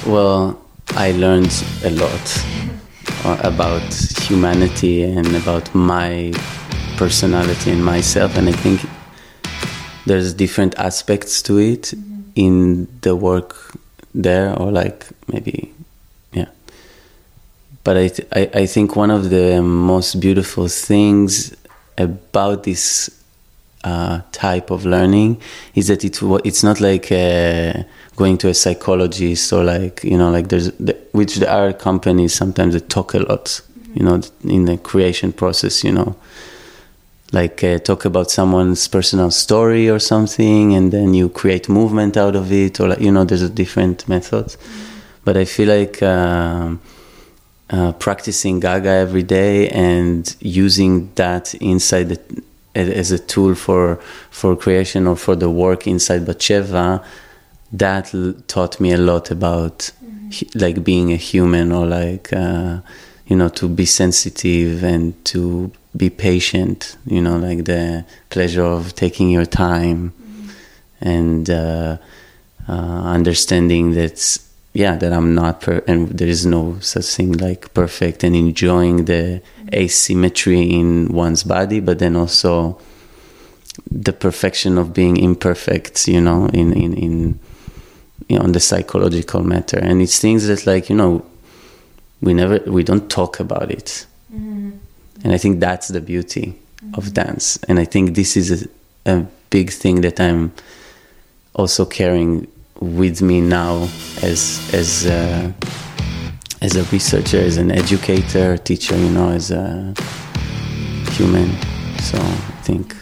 Well, I learned a lot about humanity and about my personality and myself, and I think there's different aspects to it in the work there, or like maybe, yeah. But I think one of the most beautiful things about this type of learning is that it's not like going to a psychologist, or like, you know, like which there are companies sometimes that talk a lot, you know, in the creation process, you know, like talk about someone's personal story or something, and then you create movement out of it, or like, you know, there's a different methods. But I feel like practicing Gaga every day and using that inside as a tool for creation or for the work inside Batsheva, that taught me a lot about like being a human, or like you know, to be sensitive and to be patient, you know, like the pleasure of taking your time and understanding that I'm not and there is no such thing like perfect, and enjoying the asymmetry in one's body, but then also the perfection of being imperfect, you know, in you know, on the psychological matter. And it's things that, like, you know, we don't talk about it. And I think that's the beauty of dance. And I think this is a big thing that I'm also carrying with me now as a researcher, as an educator, teacher, you know, as a human. So I think